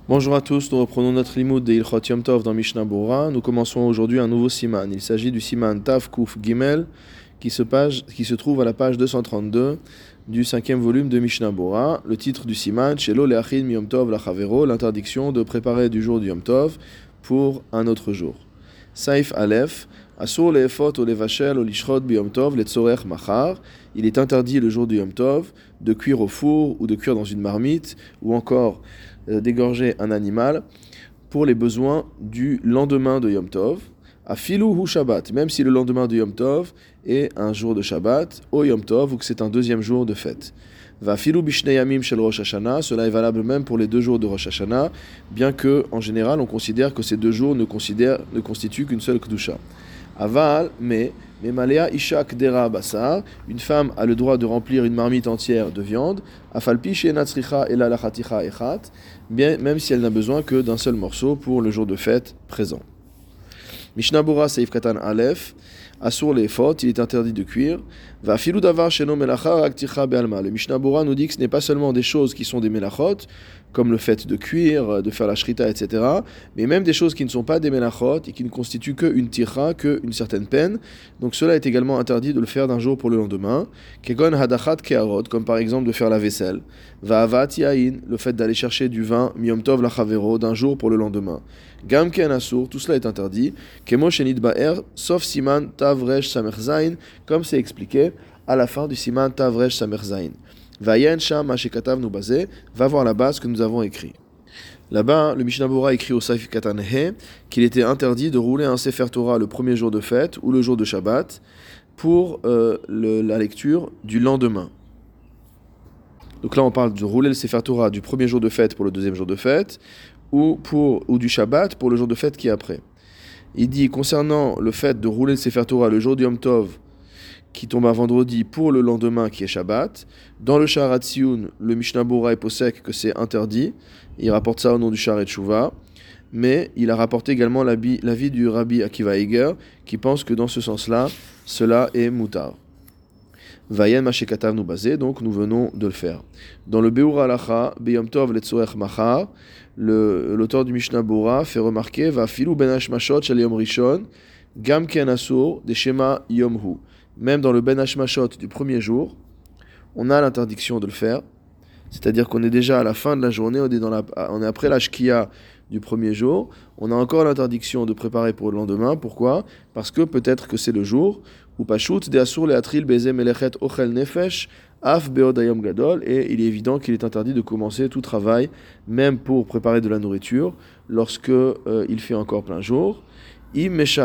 Bonjour à tous, nous reprenons notre limoud de Ilchot Yom Tov dans Mishnah Bora. Nous commençons aujourd'hui un nouveau siman. Il s'agit du siman Tav Kuf Gimel qui se trouve à la page 232 du cinquième volume de Mishnah Bora. Le titre du siman, Shelo Leachin Mi Yom Tov Lachavero, l'interdiction de préparer du jour du Yom Tov pour un autre jour. Saif Aleph, Asur Leefot ou Levachel ou Lishrot Bi Yom Tov Letzorech Machar. Il est interdit le jour du Yom Tov de cuire au four ou de cuire dans une marmite ou encore d'égorger un animal pour les besoins du lendemain de Yom Tov, à filou ou Shabbat, même si le lendemain de Yom Tov est un jour de Shabbat, au Yom Tov, ou que c'est un deuxième jour de fête. Va filou bishnei yamim shel Rosh Hashanah, cela est valable même pour les 2 jours de Rosh Hashanah, bien que, en général, on considère que ces 2 jours ne constituent qu'une seule Kedusha. Aval, mais Malea Isha Kdera Basar, une femme a le droit de remplir une marmite entière de viande, Afalpi Shenatzricha Ela Lachaticha Echat, même si elle n'a besoin que d'un seul morceau pour le jour de fête présent. Mishnah Bora Seif Katan Aleph, Asur Leefot, il est interdit de cuire. Va filou davar sheno melacha akticha be'alma. Le Mishnah Bora nous dit que ce n'est pas seulement des choses qui sont des melachot, comme le fait de cuire, de faire la shrita, etc., mais même des choses qui ne sont pas des melachot et qui ne constituent qu'une tira, qu'une certaine peine. Donc cela est également interdit de le faire d'un jour pour le lendemain. Kegon hadachat keharot, comme par exemple de faire la vaisselle. Va avat yain, le fait d'aller chercher du vin, miyom tov lachavero, d'un jour pour le lendemain. Gam ken asur, tout cela est interdit. Kemo shenit ba'er, sauf siman tavresh samerzain, comme c'est expliqué à la fin du siman tavresh samerzain. Vayen sham hashekatav nu bazé, va voir la base que nous avons écrit. Là-bas, le Mishnah Bora écrit au Saif Katan He qu'il était interdit de rouler un Sefer Torah le premier jour de fête ou le jour de Shabbat pour la lecture du lendemain. Donc là, on parle de rouler le Sefer Torah du premier jour de fête pour le deuxième jour de fête ou du Shabbat pour le jour de fête qui est après. Il dit, concernant le fait de rouler le Sefer Torah le jour du Yom Tov qui tombe un vendredi pour le lendemain qui est Shabbat, dans le Shaharat Tziyun, le Mishnah Bora est posek que c'est interdit. Il rapporte ça au nom du Shaharat Tshuva, mais il a rapporté également l'avis du Rabbi Akiva Eiger qui pense que dans ce sens-là, cela est mutar. Vayen Mashekatav nu bazé, donc nous venons de le faire. Dans le Beur Halacha, Beyom Tov Letzorech Machar, l'auteur du Mishnah Bora fait remarquer va filou ben hashmashot shel Yom Rishon, gam ken asur de Shema Yom Hu. Même dans le ben hashmashot du premier jour, on a l'interdiction de le faire. C'est-à-dire qu'on est déjà à la fin de la journée, on est après la shkia du premier jour, on a encore l'interdiction de préparer pour le lendemain. Pourquoi ? Parce que peut-être que c'est le jour où Pashut de Asur Leatril Beze Melechet Ochel Nefesh Af Beod Hayom Gadol, et il est évident qu'il est interdit de commencer tout travail, même pour préparer de la nourriture, lorsque il fait encore plein jour. Puisque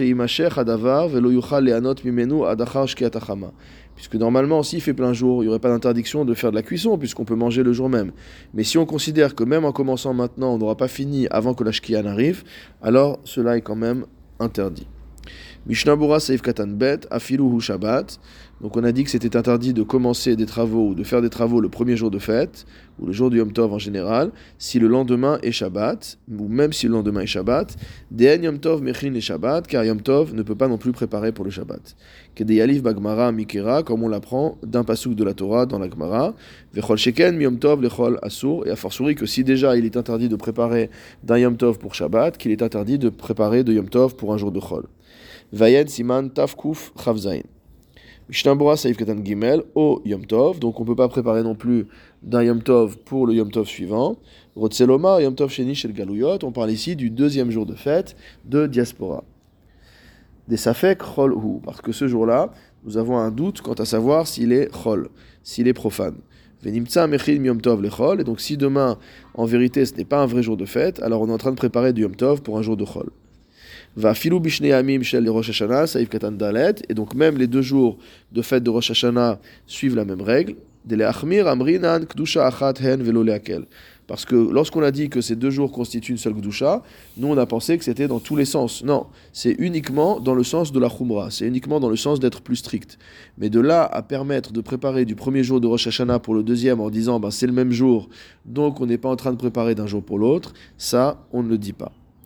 normalement, s'il fait plein jour, il n'y aurait pas d'interdiction de faire de la cuisson, puisqu'on peut manger le jour même. Mais si on considère que même en commençant maintenant, on n'aura pas fini avant que la shkia n'arrive, alors cela est quand même interdit. Mishnah Bora Seif Katan Bet, Afiluhu Shabbat. Donc on a dit que c'était interdit de commencer des travaux ou de faire des travaux le premier jour de fête, ou le jour du Yom Tov en général, si le lendemain est Shabbat, ou même si le lendemain est Shabbat, De'en Yom Tov Mechin et Shabbat, car Yom Tov ne peut pas non plus préparer pour le Shabbat. Kedeyalif Bagmara Mikera, comme on l'apprend d'un pasuk de la Torah dans la Gemara, Vechol Sheken Yom Tov Lechol Asur, et a fortiori que si déjà il est interdit de préparer d'un Yom Tov pour Shabbat, qu'il est interdit de préparer de Yom Tov pour un jour de Chol. Vayen Siman Tafkuf Chavzain. Mishnah Bora Saif Katan Gimel au Yom Tov, donc on ne peut pas préparer non plus d'un Yom Tov pour le Yom Tov suivant. Rotzeloma Yom Tov Sheni Shel Galuyot, on parle ici du deuxième jour de fête de diaspora. Des Safek Chol Hu, parce que ce jour-là, nous avons un doute quant à savoir s'il est Chol, s'il est profane. Venimtsa Mechil Yom Tov Lechol, et donc si demain, en vérité, ce n'est pas un vrai jour de fête, alors on est en train de préparer du Yom Tov pour un jour de Chol. Va filou bishnei amim shel Rosh Hashanah, saif katan dalet, et donc même les 2 jours de fête de Rosh Hashanah suivent la même règle. Dele achmir amrinan kdusha achat hen velo leakel. Parce que lorsqu'on a dit que ces 2 jours constituent une seule kdusha, nous on a pensé que c'était dans tous les sens. Non, c'est uniquement dans le sens de la chumra, c'est uniquement dans le sens d'être plus strict. Mais de là à permettre de préparer du premier jour de Rosh Hashanah pour le deuxième en disant c'est le même jour, donc on n'est pas en train de préparer d'un jour pour l'autre, ça on ne le dit pas.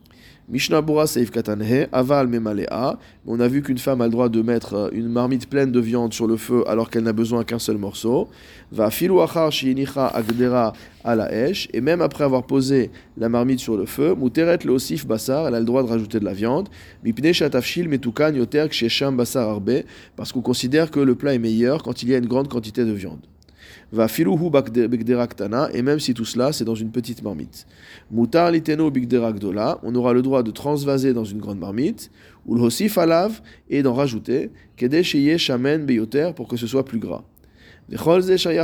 Mishnah Bora Seif Katanhe, Aval Memalea. On a vu qu'une femme a le droit de mettre une marmite pleine de viande sur le feu alors qu'elle n'a besoin qu'un seul morceau. Va filu achar shiinicha agdera à la esh. Et même après avoir posé la marmite sur le feu, Muteret le osif basar, elle a le droit de rajouter de la viande. Mipne shatafshil metukan yoter kshesham basar arbe. Parce qu'on considère que le plat est meilleur quand il y a une grande quantité de viande. Va filuhu bigdera ktana, et même si tout cela c'est dans une petite marmite. Mutar liteno bigdera gdola, on aura le droit de transvaser dans une grande marmite, ou le hosif alav, et d'en rajouter, kede sheye shamen beyoter, pour que ce soit plus gras. Tout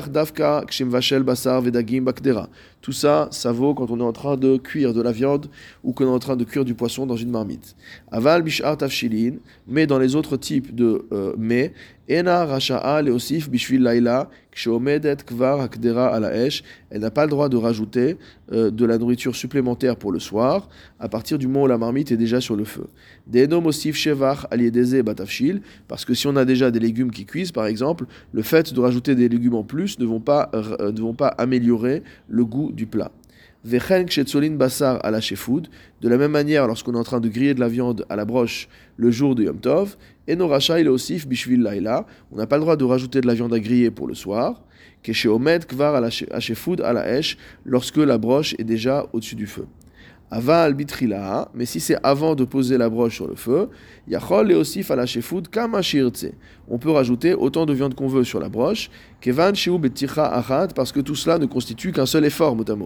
ça, ça vaut quand on est en train de cuire de la viande ou qu'on est en train de cuire du poisson dans une marmite. Aval bishar tafshilin, mais dans les autres types de mets, ena rasha'a leosif bishvil laila ksheomedet kvar hakdera ala esh, elle n'a pas le droit de rajouter de la nourriture supplémentaire pour le soir à partir du moment où la marmite est déjà sur le feu. Denom osif shevach aliedeze batafshil, parce que si on a déjà des légumes qui cuisent par exemple, le fait de rajouter des légumes en plus ne vont pas améliorer le goût du plat. Vechen kshetzolin basar à la shefoud, de la même manière lorsqu'on est en train de griller de la viande à la broche le jour de Yom Tov, eno racha il osif bishvil laila, on n'a pas le droit de rajouter de la viande à griller pour le soir, kesheomed kvar à la shefoud à la esh, lorsque la broche est déjà au-dessus du feu. Aval bitrila, mais si c'est avant de poser la broche sur le feu, yachol et osif à la shefoud kama shirtse. On peut rajouter autant de viande qu'on veut sur la broche, kevan shiu beticha achat, parce que tout cela ne constitue qu'un seul effort, motamo.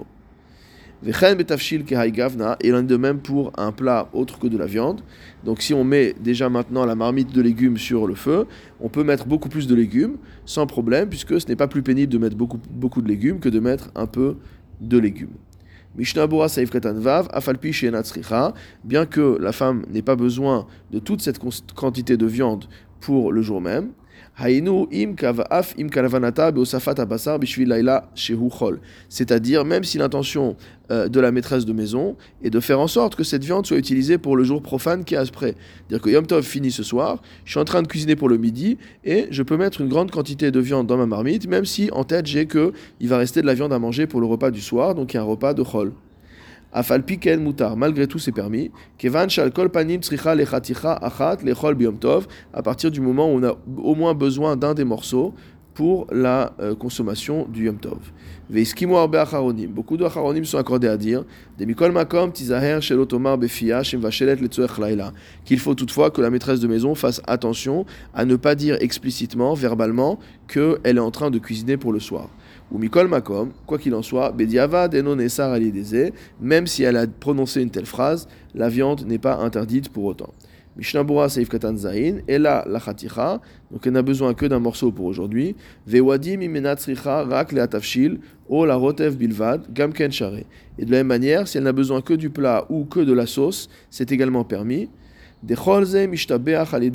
Vechen betafshil kehai gavna, et l'un de même pour un plat autre que de la viande. Donc si on met déjà maintenant la marmite de légumes sur le feu, on peut mettre beaucoup plus de légumes sans problème, puisque ce n'est pas plus pénible de mettre beaucoup de légumes que de mettre un peu de légumes. Mishnah Bora Saif Katan Vav, Afalpi Sheena Tzricha, bien que la femme n'ait pas besoin de toute cette quantité de viande pour le jour même. Hainu im kavaf im kalavanata beosafat abasar bishvil laila shehu chol. C'est-à-dire, même si l'intention de la maîtresse de maison est de faire en sorte que cette viande soit utilisée pour le jour profane qui est après. C'est-à-dire que Yom Tov finit ce soir, je suis en train de cuisiner pour le midi et je peux mettre une grande quantité de viande dans ma marmite, même si en tête j'ai que il va rester de la viande à manger pour le repas du soir, donc il y a un repas de chol. Afal piken mutar, malgré tout c'est permis. Kevan shal kol panim tzricha lechaticha achat lechol biyom tov, à partir du moment où on a au moins besoin d'un des morceaux pour la consommation du Yom Tov. Veiskimu arbe acharonim, beaucoup de acharonim sont accordés à dire demikol makom tizaher shel otomar befia shem vashelet letzoech laila, qu'il faut toutefois que la maîtresse de maison fasse attention à ne pas dire explicitement, verbalement, qu'elle est en train de cuisiner pour le soir. Ou mikol makom, quoi qu'il en soit, bediavad eno nesar aliedeze, même si elle a prononcé une telle phrase, la viande n'est pas interdite pour autant. Mishnah Bora Seif Katan Zain, Ela la Chaticha, donc elle n'a besoin que d'un morceau pour aujourd'hui. Vewadim imena tzricha rak le atafshil, o la rotev bilvad, gamken share. Et de la même manière, si elle n'a besoin que du plat ou que de la sauce, c'est également permis. Même si on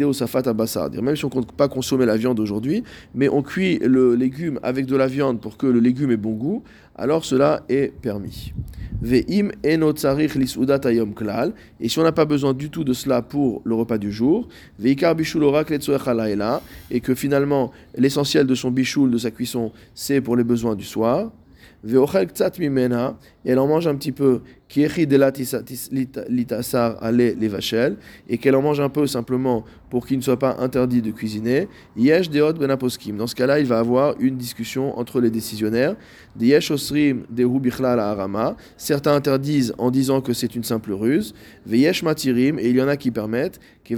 ne compte pas consommer la viande aujourd'hui, mais on cuit le légume avec de la viande pour que le légume ait bon goût, alors cela est permis. Et si on n'a pas besoin du tout de cela pour le repas du jour, et que finalement l'essentiel de son bichoul, de sa cuisson, c'est pour les besoins du soir, et elle en mange un petit peu, et qu'elle en mange un peu simplement pour qu'il ne soit pas interdit de cuisiner. Dans ce cas-là, il va avoir une discussion entre les décisionnaires. Certains interdisent en disant que c'est une simple ruse. Et il y en a qui permettent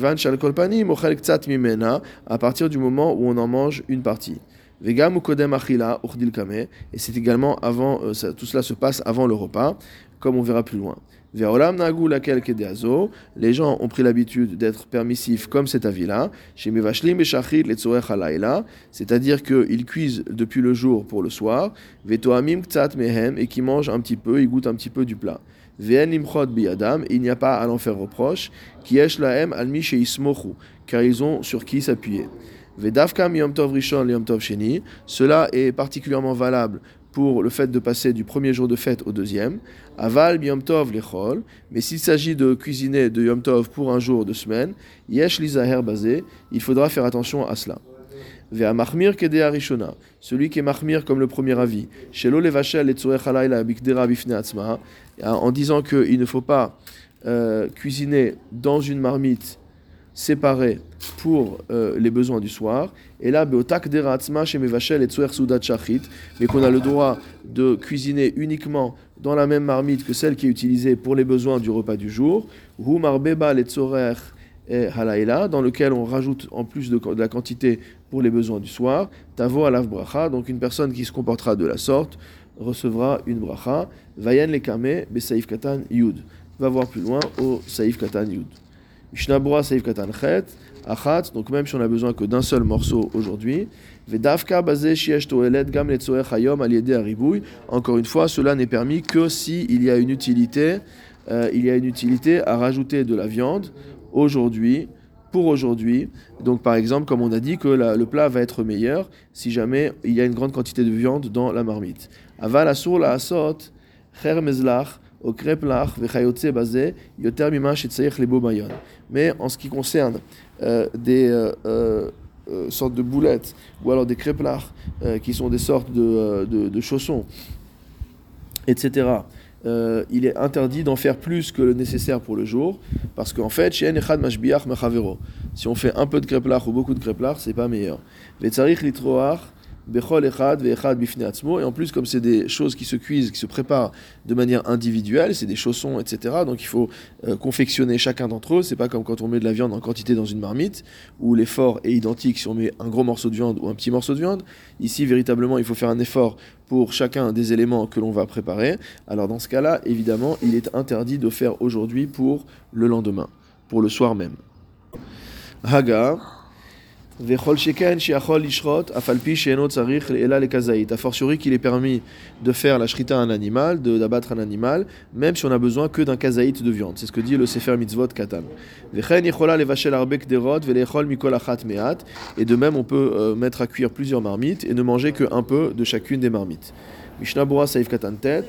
à partir du moment où on en mange une partie. Vegam ou kodem achila urdil kame, et c'est également avant, tout cela se passe avant le repas, comme on verra plus loin. Ve'olam nagu lakel kedeazo, les gens ont pris l'habitude d'être permissifs comme cet avis-là, chez mevashlim beshachrit letzorech halayla, c'est-à-dire qu'ils cuisent depuis le jour pour le soir, ve'toamim ktsat mehem, et qui mangent un petit peu, ils goûtent un petit peu du plat. Ve'en limchot biyadam, il n'y a pas à l'en faire reproche, ki yesh lahem almi sheismochu, car ils ont sur qui s'appuyer. Vedavkam Yom Tov Rishon Yom Tov Sheni, cela est particulièrement valable pour le fait de passer du premier jour de fête au deuxième. Aval Yom Tov Lechol, mais s'il s'agit de cuisiner de Yom Tov pour un jour de semaine, Yesh Lizaher Bazé, il faudra faire attention à cela. Ve'a Mahmir Kedea Rishona, celui qui est Mahmir comme le premier avis, Shelo Levashel et Tzorech Halayla Bikdera Bifne Atzma, en disant qu'il ne faut pas cuisiner dans une marmite séparée pour les besoins du soir. Et là, mais qu'on a le droit de cuisiner uniquement dans la même marmite que celle qui est utilisée pour les besoins du repas du jour. Dans lequel on rajoute en plus de la quantité pour les besoins du soir. Tavo alav bracha, donc une personne qui se comportera de la sorte recevra une bracha. Vayen lekame be saif katan yud. Va voir plus loin au saif katan yud. Mishnah Berurah saif katan chet achat, donc même si on a besoin que d'un seul morceau aujourd'hui. Vedavka bazeh sheyesh toelet gam letzoech hayom al yedei haribouy. Encore une fois, cela n'est permis que si il y a une utilité à rajouter de la viande aujourd'hui, pour aujourd'hui. Donc par exemple, comme on a dit que le plat va être meilleur si jamais il y a une grande quantité de viande dans la marmite. Aval asur la asot cher mezlach au kreplach vechayotze bazeh yoter mima shetzayich lebo mayon. Mais en ce qui concerne des sortes de boulettes ou alors des kreplach qui sont des sortes de chaussons, etc., il est interdit d'en faire plus que le nécessaire pour le jour, parce qu'en fait, si on fait un peu de kreplach ou beaucoup de kreplach, c'est pas meilleur. Et en plus, comme c'est des choses qui se cuisent, qui se préparent de manière individuelle, c'est des chaussons, etc. Donc il faut confectionner chacun d'entre eux. C'est pas comme quand on met de la viande en quantité dans une marmite, où l'effort est identique si on met un gros morceau de viande ou un petit morceau de viande. Ici, véritablement, il faut faire un effort pour chacun des éléments que l'on va préparer. Alors dans ce cas-là, évidemment, il est interdit de faire aujourd'hui pour le lendemain, pour le soir même. Haga. A fortiori qu'il est permis de faire la shrita à un animal, d'abattre un animal, même si on a besoin que d'un kazaït de viande. C'est ce que dit le Sefer Mitzvot Katan. Et de même, on peut mettre à cuire plusieurs marmites et ne manger qu'un peu de chacune des marmites. Mishnah Berurah Saif Katan Tet.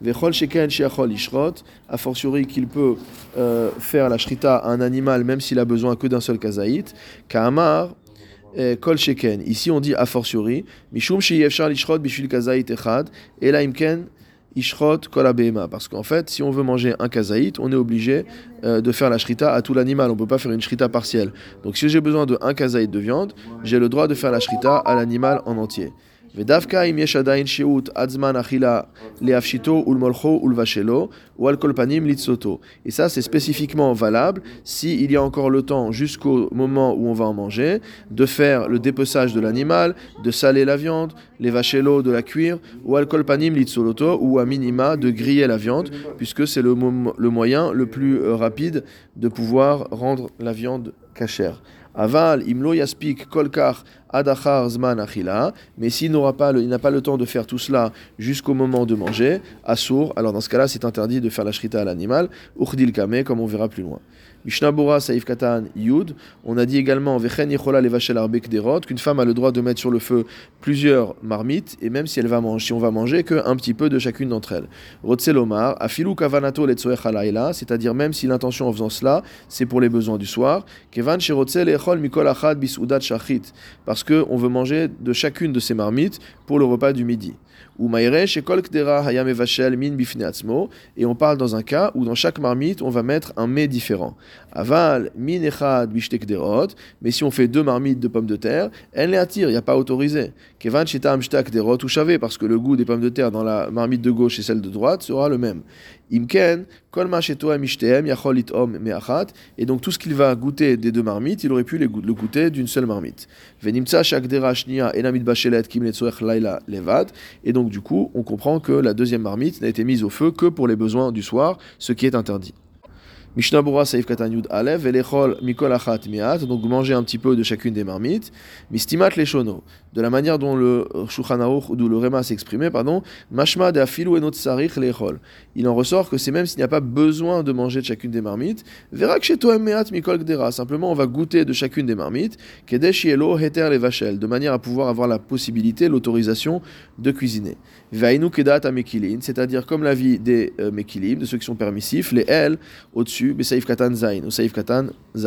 A fortiori qu'il peut faire la shrita à un animal même s'il a besoin que d'un seul kazaït. Ka'amar Kol Sheken. Ici on dit a fortiori, Mishum sheyefshar lishrot bishvil kazaït echad, ela imken ishrot kol abehema. Parce qu'en fait, si on veut manger un kazaït, on est obligé de faire la shrita à tout l'animal. On ne peut pas faire une shrita partielle. Donc si j'ai besoin de un kazaït de viande, j'ai le droit de faire la shrita à l'animal en entier. ודווקא אם יש עדיין שהות עד זמן אכילה להפשיטו ולמולכו ולבשלו ועל כל פנים לצלותו. Et ça c'est spécifiquement valable s'il y a encore le temps jusqu'au moment où on va en manger de faire le dépeçage de l'animal, de saler la viande, les vachelo de la cuire ou al kol panim litzoloto ou à minima de griller la viande puisque c'est le moyen le plus rapide de pouvoir rendre la viande cachère. Aval, imlo yaspik kolkar adachar zman achila, mais s'il n'a pas le temps de faire tout cela jusqu'au moment de manger, assour, alors dans ce cas-là, c'est interdit de faire la shrita à l'animal, uchdil kame, comme on verra plus loin. Mishnah Berurah Saif Katan Yud, on a dit également Vechen Yechola Levashel Arbek Derot, qu'une femme a le droit de mettre sur le feu plusieurs marmites, et même si on va manger qu'un petit peu de chacune d'entre elles. Rotzelomar, Afilu Kavanato Letzoech Halayla, c'est-à-dire même si l'intention en faisant cela, c'est pour les besoins du soir, Kevan Shirotzel Echol Mikol Achad Bisudat Shachit, parce qu'on veut manger de chacune de ces marmites pour le repas du midi. Ou Maïre, chez Kol Kdera Hayam Evashel Min Bifne Atzmo, et on parle dans un cas où dans chaque marmite on va mettre un mets différent. Aval Min Echad Bishtek Derot, mais si on fait deux marmites de pommes de terre, elle les attire, il n'y a pas autorisé. Kevan Shetam Shtak Derot ou Chavé, parce que le goût des pommes de terre dans la marmite de gauche et celle de droite sera le même. Imken, Kol Ma Shetoem Ishtem Yachol Itom Meachat, et donc tout ce qu'il va goûter des deux marmites, il aurait pu le goûter d'une seule marmite. Venimtsa Shak Dera Shnia Enamit Bachelet Kim Letzoech Laila Levad, et donc du coup, on comprend que la deuxième marmite n'a été mise au feu que pour les besoins du soir, ce qui est interdit. Mishnah Berurah Saif Katan Yud Alev velechol mikol achat miat, donc manger un petit peu de chacune des marmites. Mistimat leshono, de la manière dont le Shulchan Aruch ou le Réma s'est exprimé, mashma de afilu enot sarich lechol. Il en ressort que c'est même s'il n'y a pas besoin de manger de chacune des marmites, verak shetoem meat mikol gdera, simplement on va goûter de chacune des marmites, kedesh yelo heter levashel, de manière à pouvoir avoir la possibilité, l'autorisation de cuisiner. Vainu kedat amekilin, c'est-à-dire comme l'avis des mekilim, de ceux qui sont permissifs, les L au-dessus, Saif Katan Zain, ou Saif Katan Zain.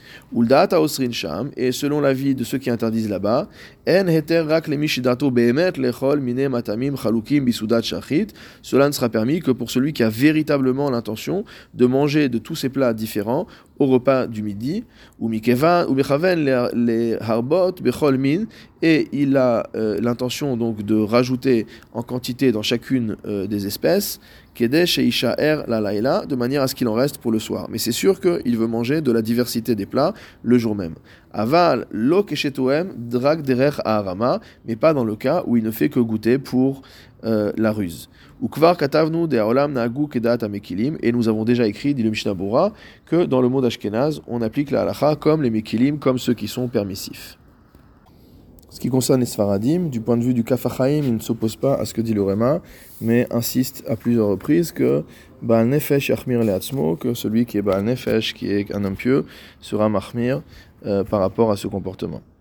Uldaat haosrin sham, et selon l'avis de ceux qui interdisent là-bas, en heter rak lemi shidato behemet lechol mine matamim chalukim bisudat shachit. Cela ne sera permis que pour celui qui a véritablement l'intention de manger de tous ces plats différents au repas du midi, ou mikeva ou bechaven les harbot bechol min, et il a l'intention donc de rajouter en quantité dans chacune des espèces, kedesh et ishaer la laila, de manière à ce qu'il en reste pour le soir. Mais c'est sûr qu'il veut manger de la diversité des plats le jour même. Aval lo keshetoem drag derech aharama, mais pas dans le cas où il ne fait que goûter pour la ruse. Ou kvar katavnu de haolam nagu kedat amekilim, et nous avons déjà écrit, dit le Mishnah Bora, que dans le monde ashkénaze, on applique la halacha comme les mekilim, comme ceux qui sont permissifs. Ce qui concerne les Sfaradim, du point de vue du Kaf HaChaim, il ne s'oppose pas à ce que dit le Réma, mais insiste à plusieurs reprises que Baal Nefesh Yachmir Leatzmo, que celui qui est Baal Nefesh, qui est un homme pieux, sera Mahmir par rapport à ce comportement.